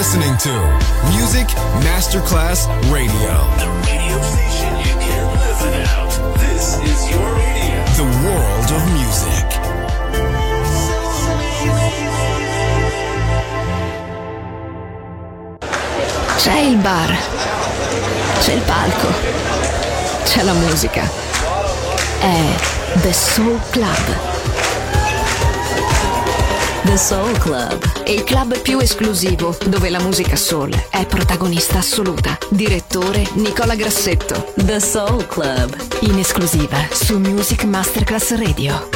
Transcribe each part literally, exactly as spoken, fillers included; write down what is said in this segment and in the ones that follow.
listening to Music Masterclass Radio. The radio station you can't live without. This is your radio. The world of music. C'è il bar, c'è il palco, c'è la musica. È The Soul Club. The Soul Club, il club più esclusivo dove la musica soul è protagonista assoluta. Direttore Nicola Grassetto. The Soul Club, in esclusiva su Music Masterclass Radio.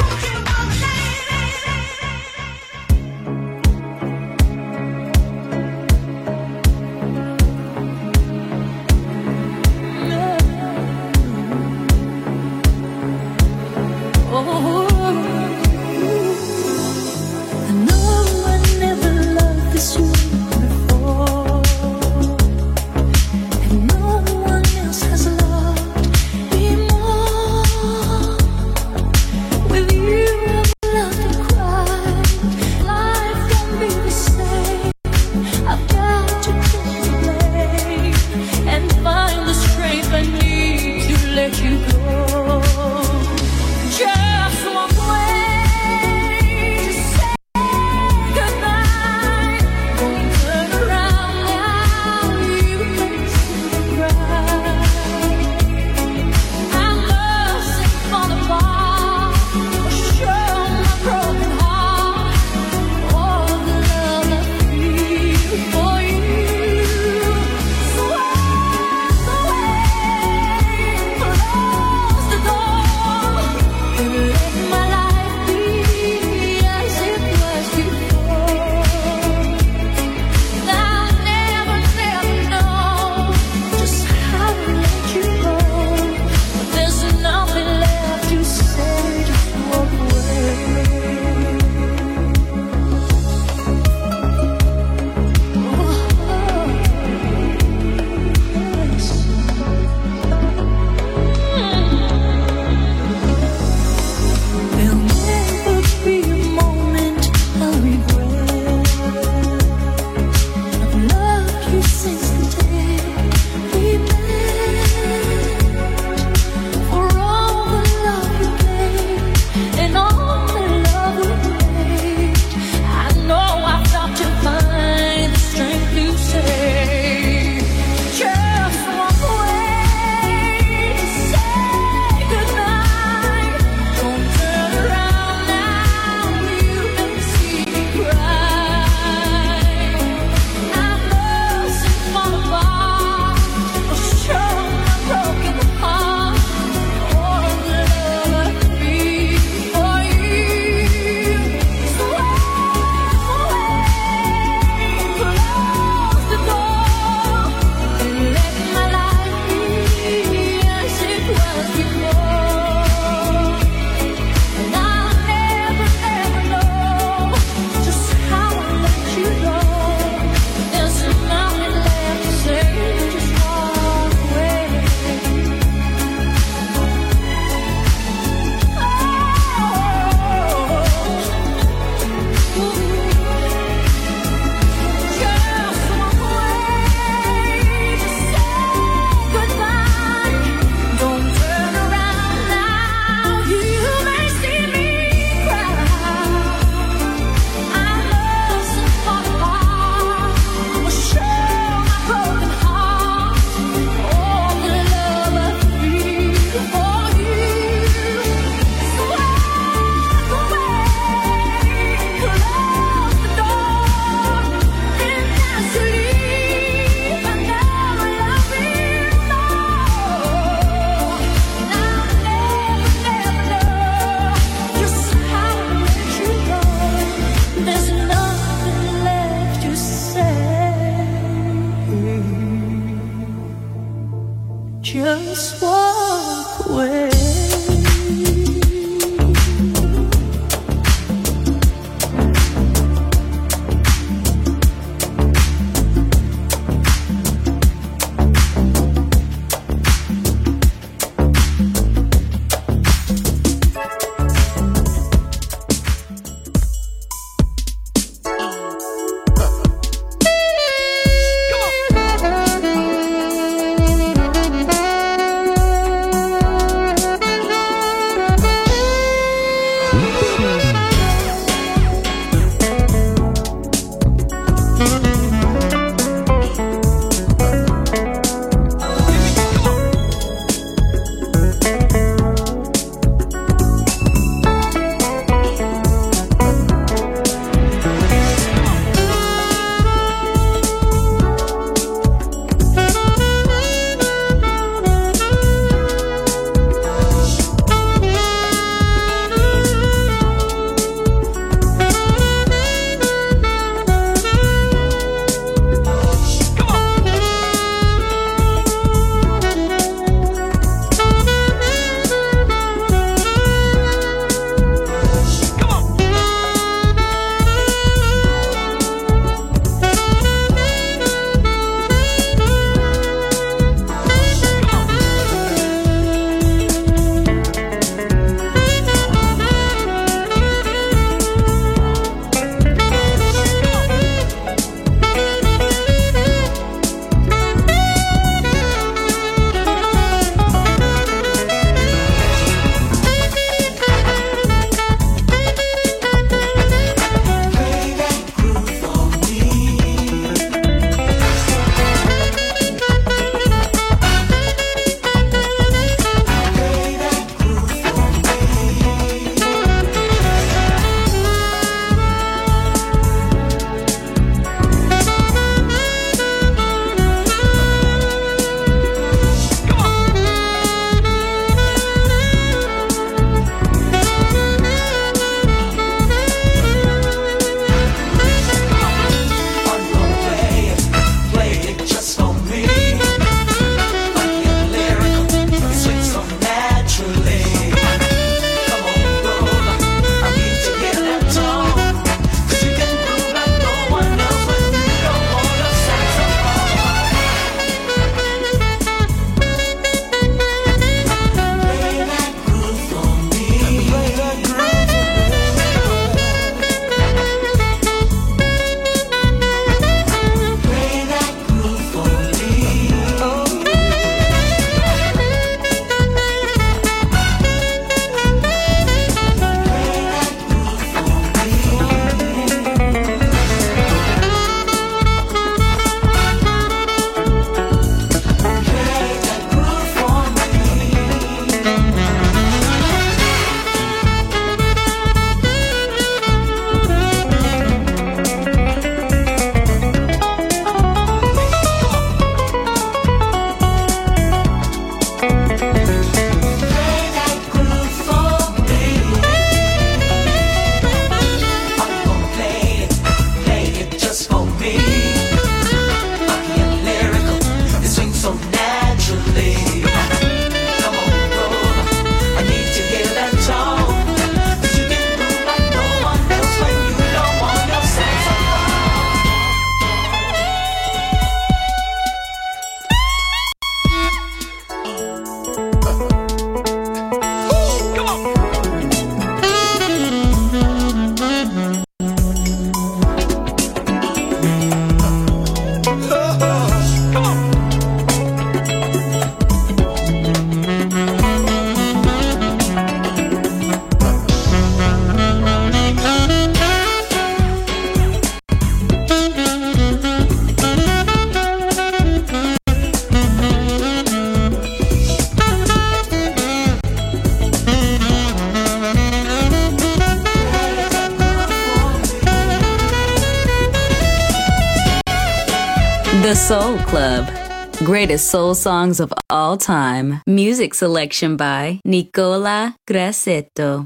The Soul Club. Greatest soul songs of all time. Music selection by Nicola Grassetto.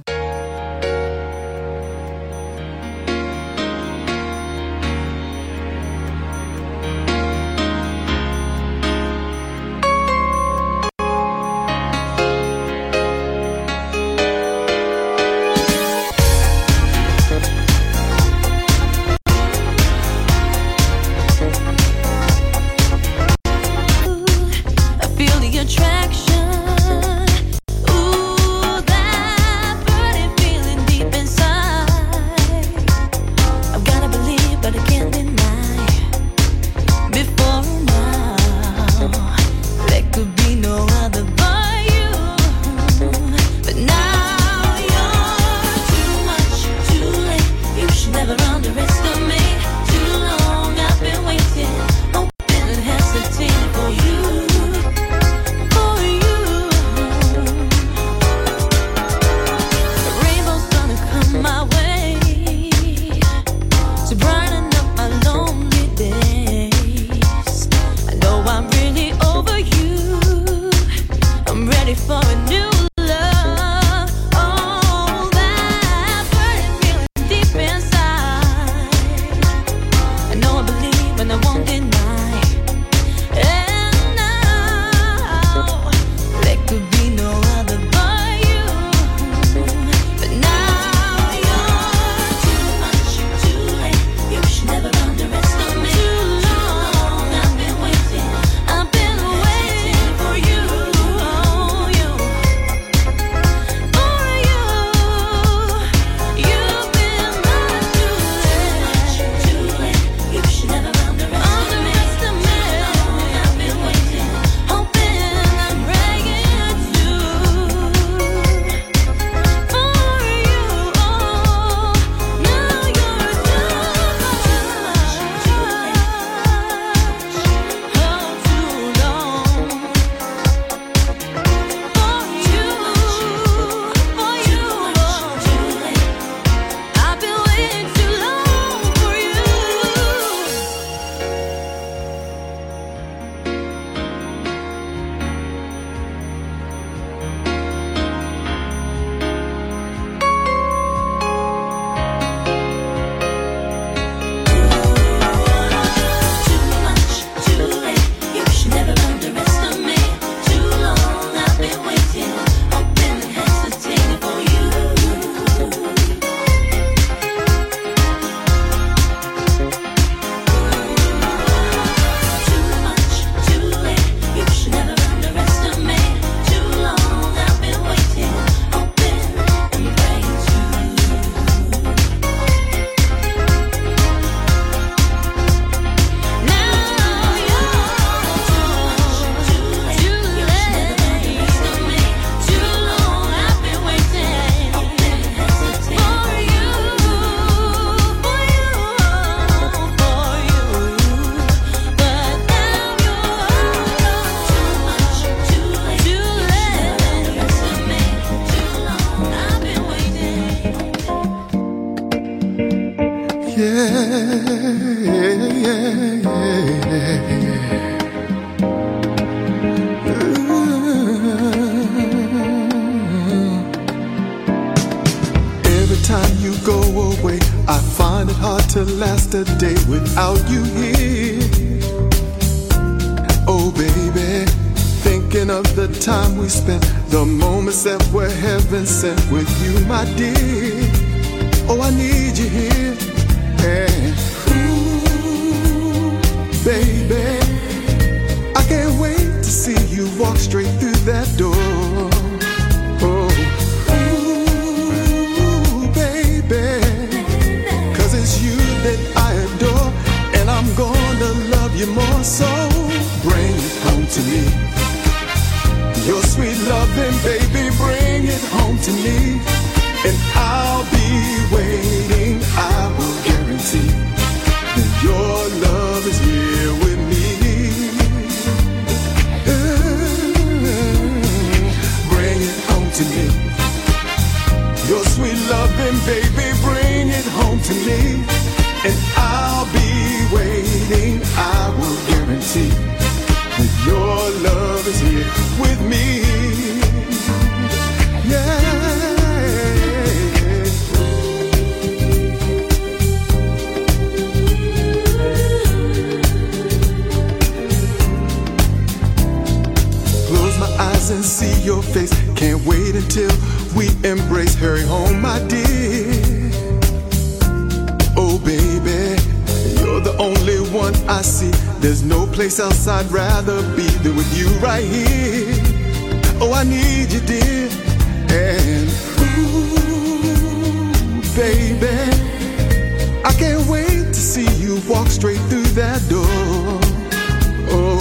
Last a day without you here. Oh baby, thinking of the time we spent, the moments that were heaven sent with you, my dear. Oh, I need you here. And ooh, baby, I can't wait to see you walk straight through that door. Oh, ooh, baby, 'cause it's you that I adore, and I'm gonna love you more. So bring it home to me, your sweet loving, baby, bring it home to me, and I'll be waiting. I will guarantee that your love is here with me. Can't wait until we embrace. Hurry home, my dear. Oh, baby, you're the only one I see. There's no place else I'd rather be than with you right here. Oh, I need you, dear. And ooh, baby, I can't wait to see you walk straight through that door. Oh,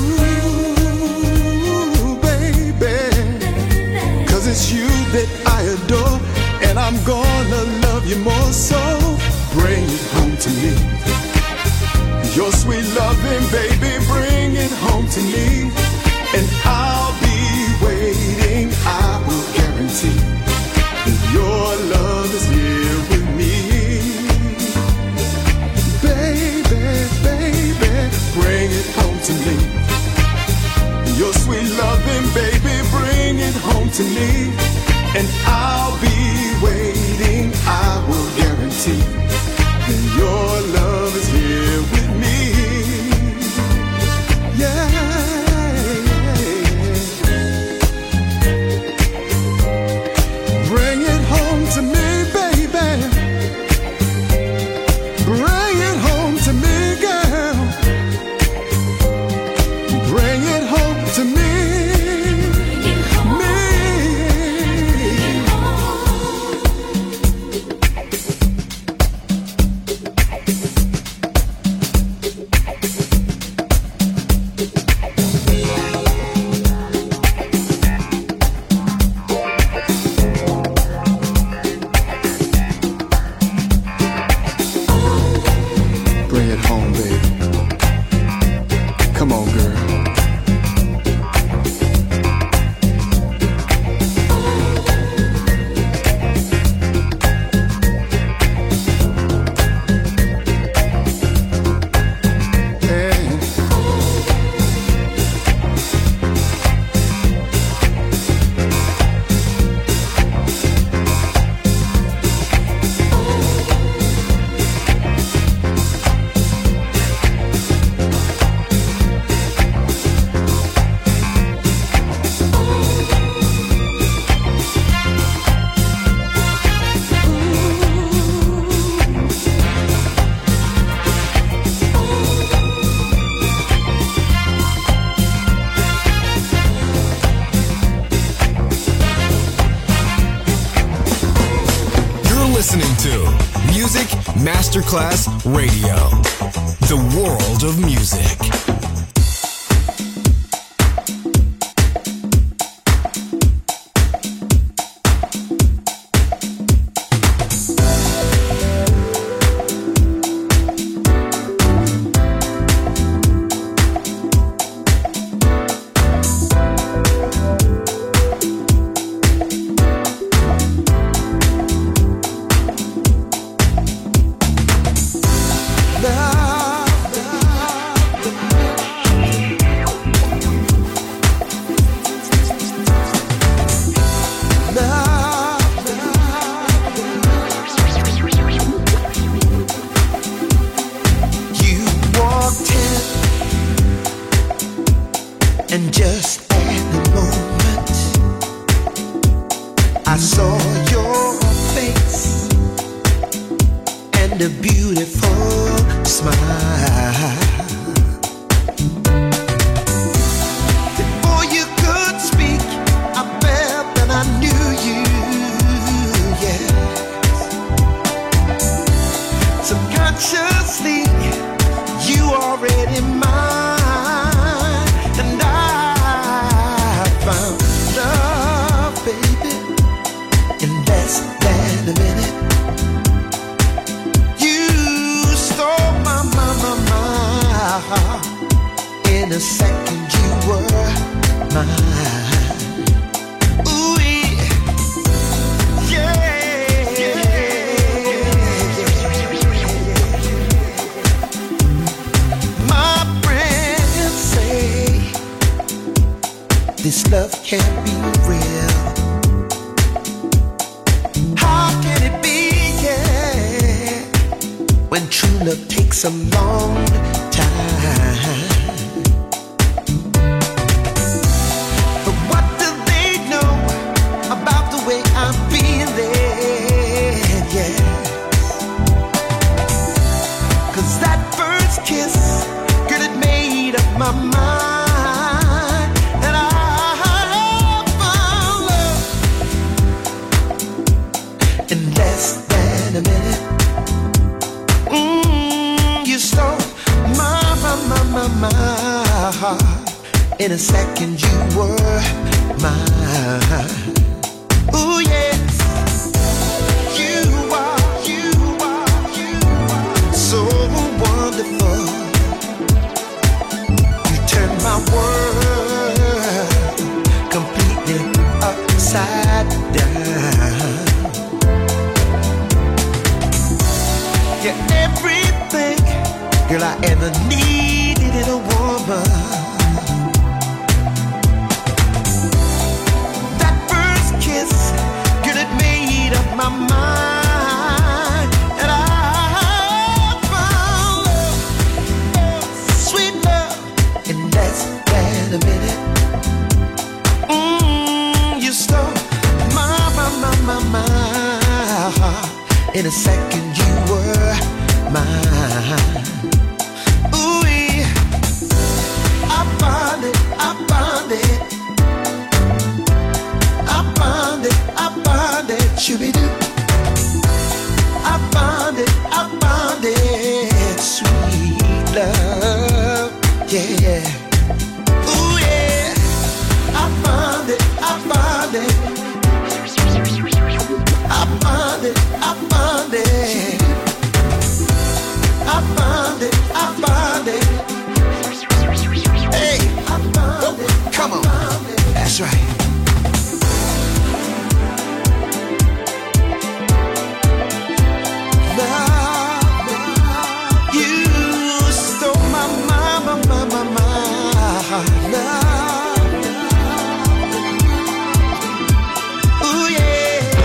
ooh, baby, 'cause it's you that I adore, and I'm gonna love you more, so bring it home to me. Your sweet loving, baby, bring it home to me. And I'll be waiting, I will guarantee that your love is here with me. Baby, baby, bring it home to me. Your sweet loving, baby, bring it home to me. And I'll be waiting, I will guarantee that your love is here with me. Yeah. Bring it home to me, baby. Bring it home to me, girl. Bring it home to me. Masterclass Radio, the world of music. But what do they know? heart. In a second you were mine. Ooh yes, you are, you are, you are so wonderful. You turn my world completely upside down. You're everything, girl, I ever needed in a woman. That first kiss, girl, it made up my mind. And I found love, sweet love, in less than a minute. Mmm, you stole my, my, my, my, my heart. In a second you were mine. Ooh, I found it, I found it, I found it, I found it, shooby-doo. I found it, I found it, sweet love, yeah. Ooh yeah, I found it, I found it, I found it, I found it, I found it, I found it. Hey, I found it, come on, that's right. Love, you stole my, my, my, my, my, my love. Ooh yeah.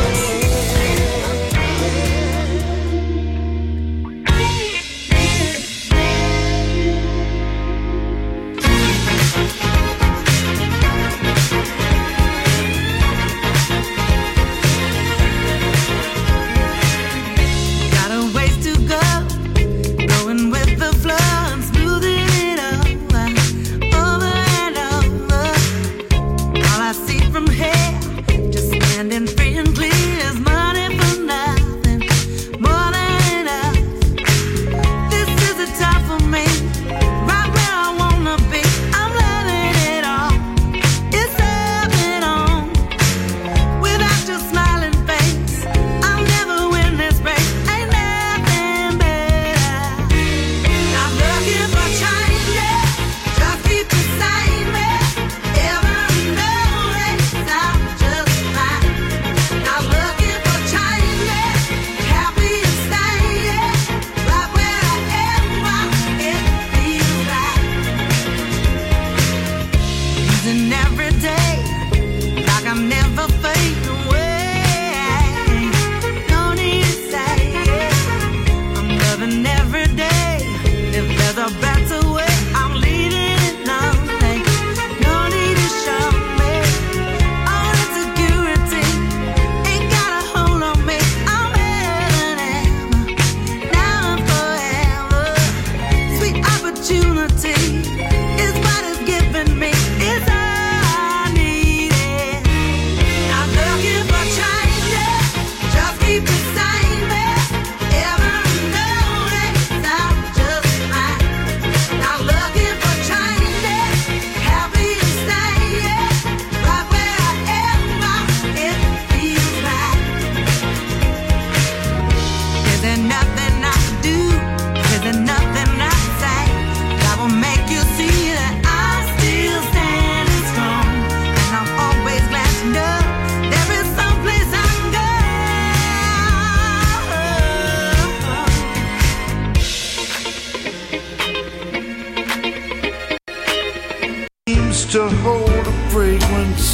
To hold the fragrance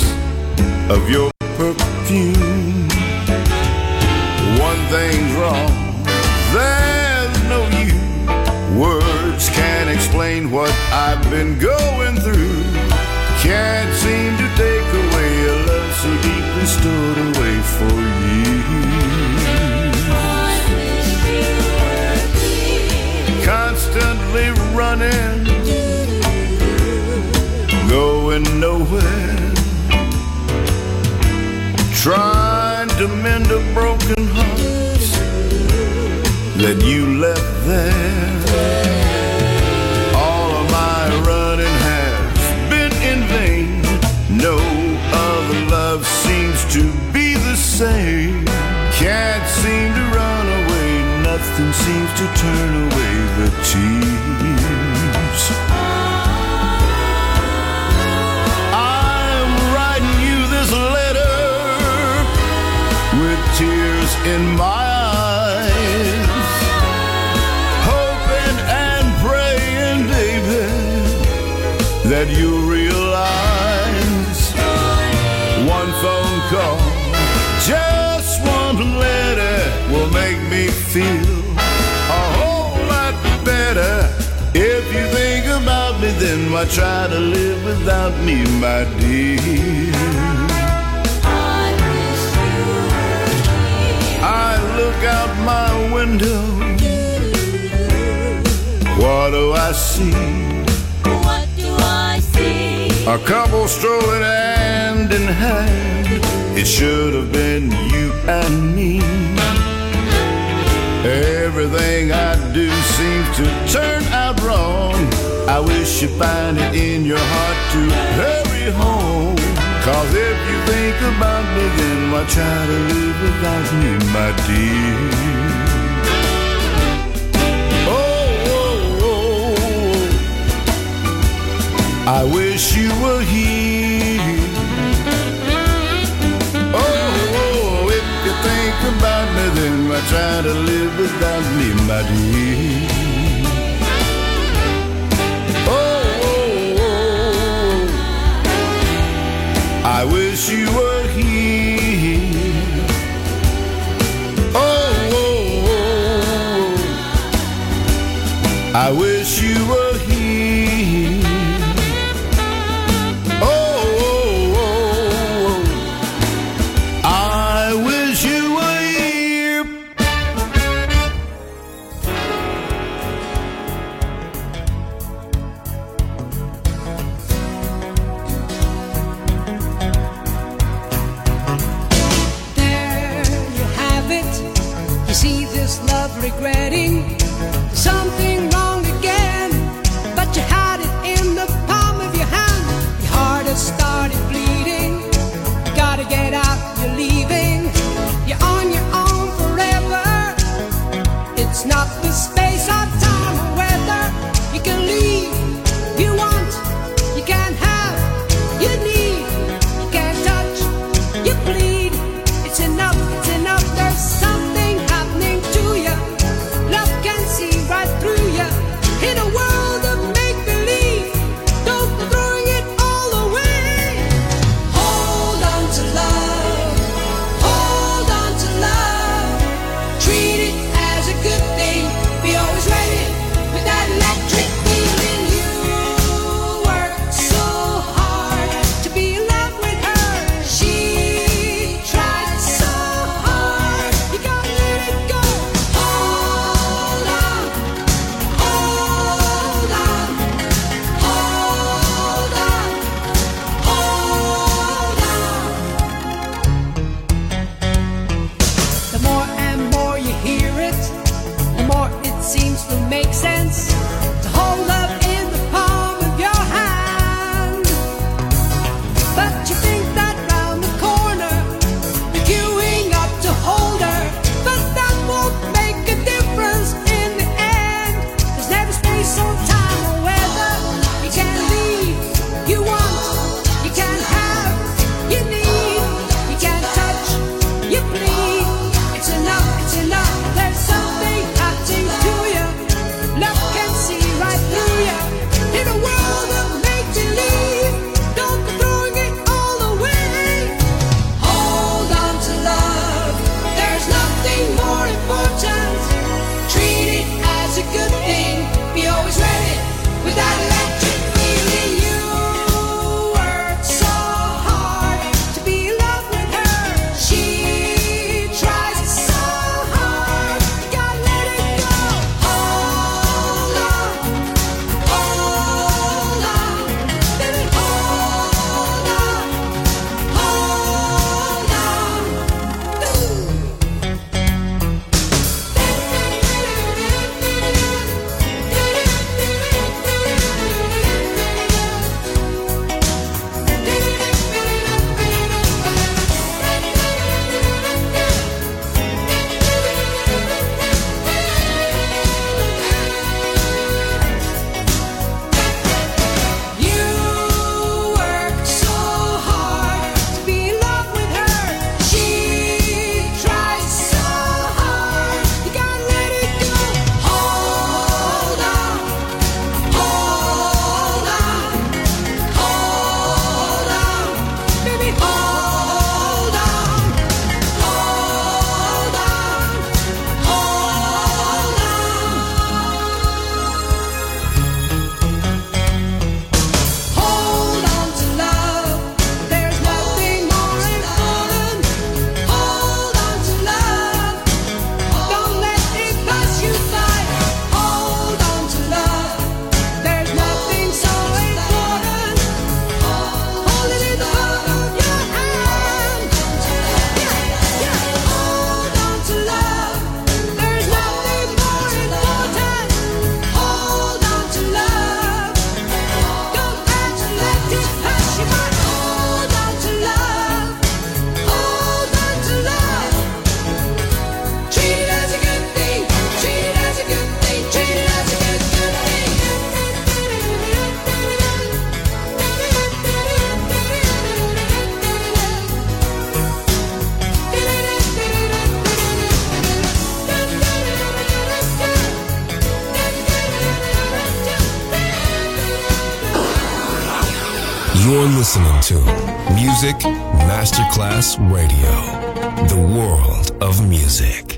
of your perfume. One thing's wrong, there's no you. Words can't explain what I've been going through. Can't seem to take away a love so deeply stored away for you. Constantly running, going nowhere, trying to mend a broken heart that you left there. All of my running has say. Can't seem to run away, nothing seems to turn away the tears. I'm writing you this letter with tears in my eyes, hoping and praying, baby, that you'll realize one phone call, just one letter will make me feel a whole lot better. If you think about me, then why try to live without me, my dear? I look out my window, what do I see? What do I see? A couple strolling hand in hand, it should have been you and me. Everything I do seems to turn out wrong. I wish you find it in your heart to hurry home. Cause if you think about me, then why try to live without me, my dear? Oh, oh, oh, I wish you were here. Oh, if you think about me, then why try to live without me, my dear? Oh, oh, oh, I wish you were here. Oh, oh, oh, I wish you were here. Regretting something wrong again, but you had it in the palm of your hand. Your heart has started bleeding. You gotta get out, you're leaving. You're on your own forever. It's not the space or time or weather. You can leave, you want, you can't have, you need, you can't touch, you bleed. It's enough, it's enough, there's something happening to you. Love can see right through you. In a world of make-believe, don't go throwing it all away. Hold on to love, hold on to love. Treat it as a good thing. Be always ready with that electric feeling. You worked so hard to be in love with her. She tried so hard. You gotta let it go. Hold on, hold on, hold on, hold on. The more and more you hear it, the more it seems to make sense to hold up in the palm of your hand. But you think that round the corner you're queuing up to hold her, but that won't make a difference in the end. There's never space or time or weather. You can't leave, you want, you can't have, you need, you can't touch, you bleed. It's enough, it's enough, there's something happening to you. Love can see right through you. You're listening to Music Masterclass Radio, the world of music.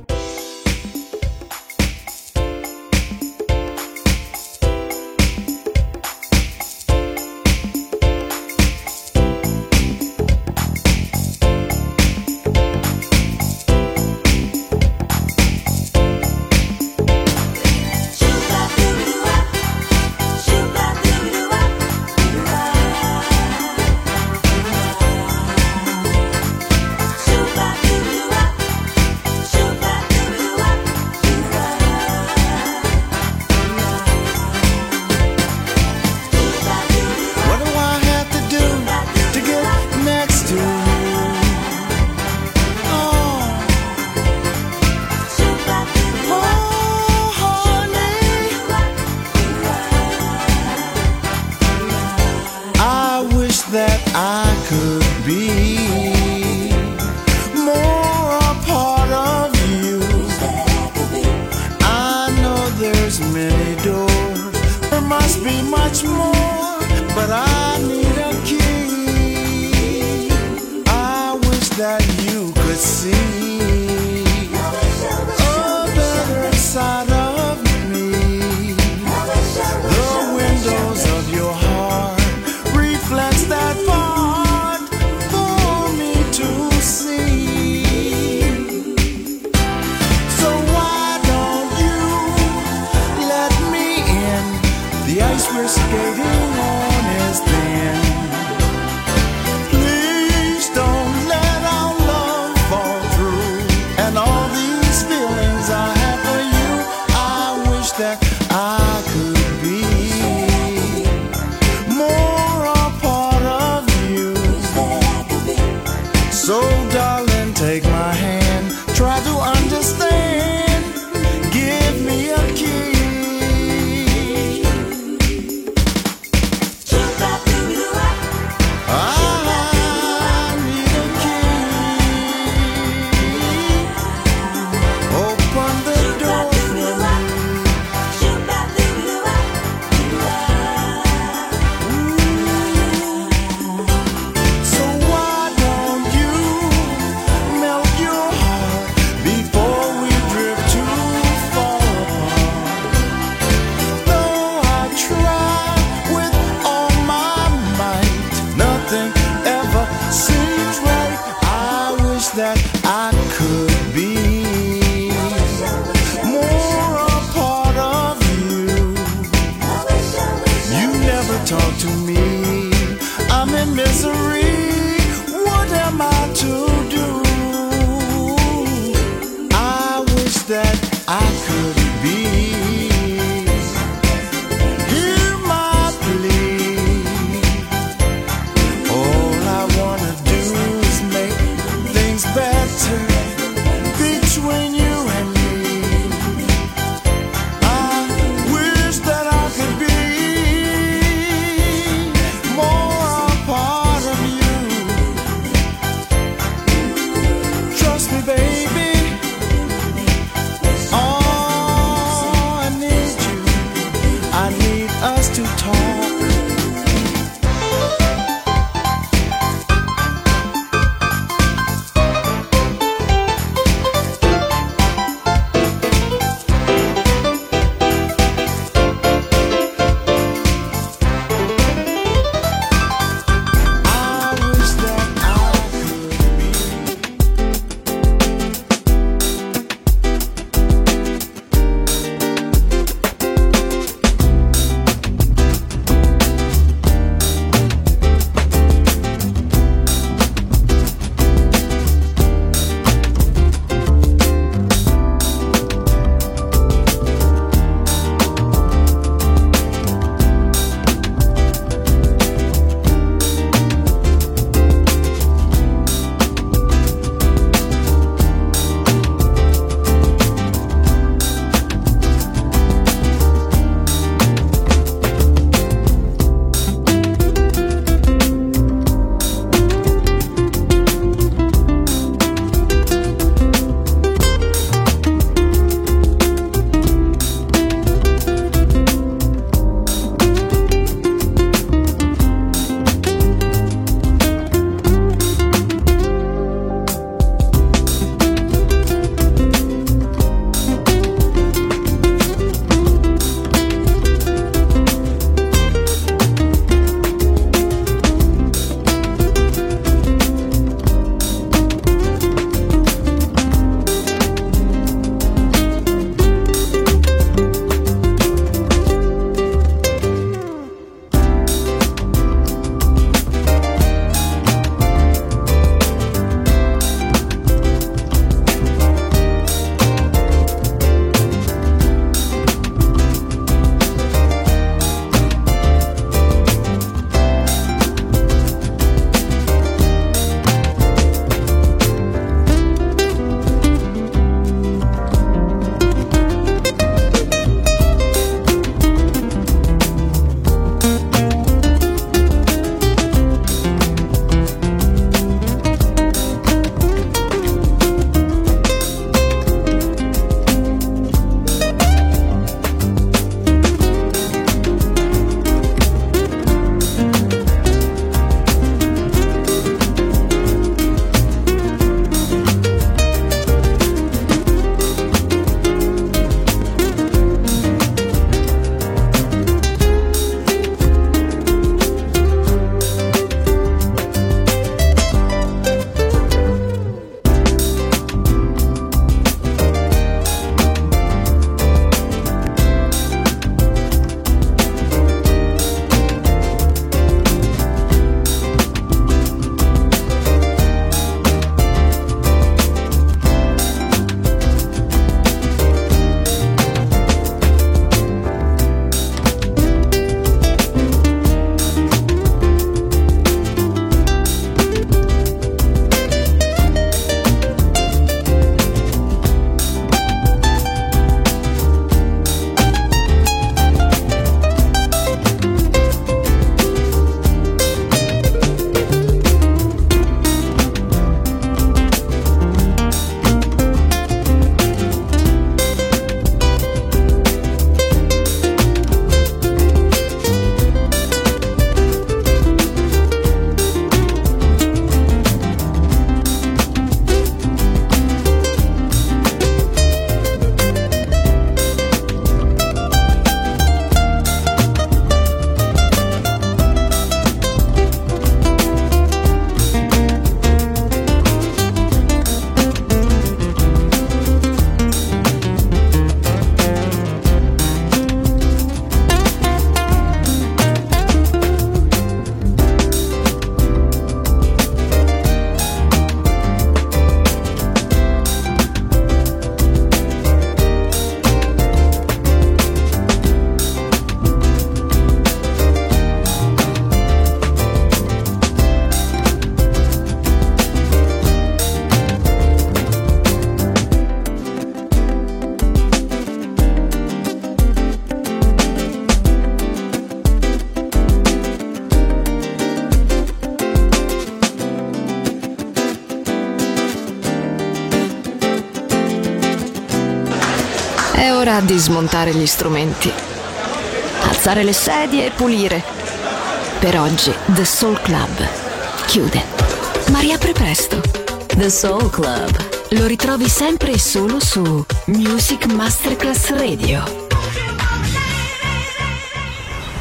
È ora di smontare gli strumenti, alzare le sedie e pulire. Per oggi The Soul Club chiude, ma riapre presto. The Soul Club. Lo ritrovi sempre e solo su Music Masterclass Radio.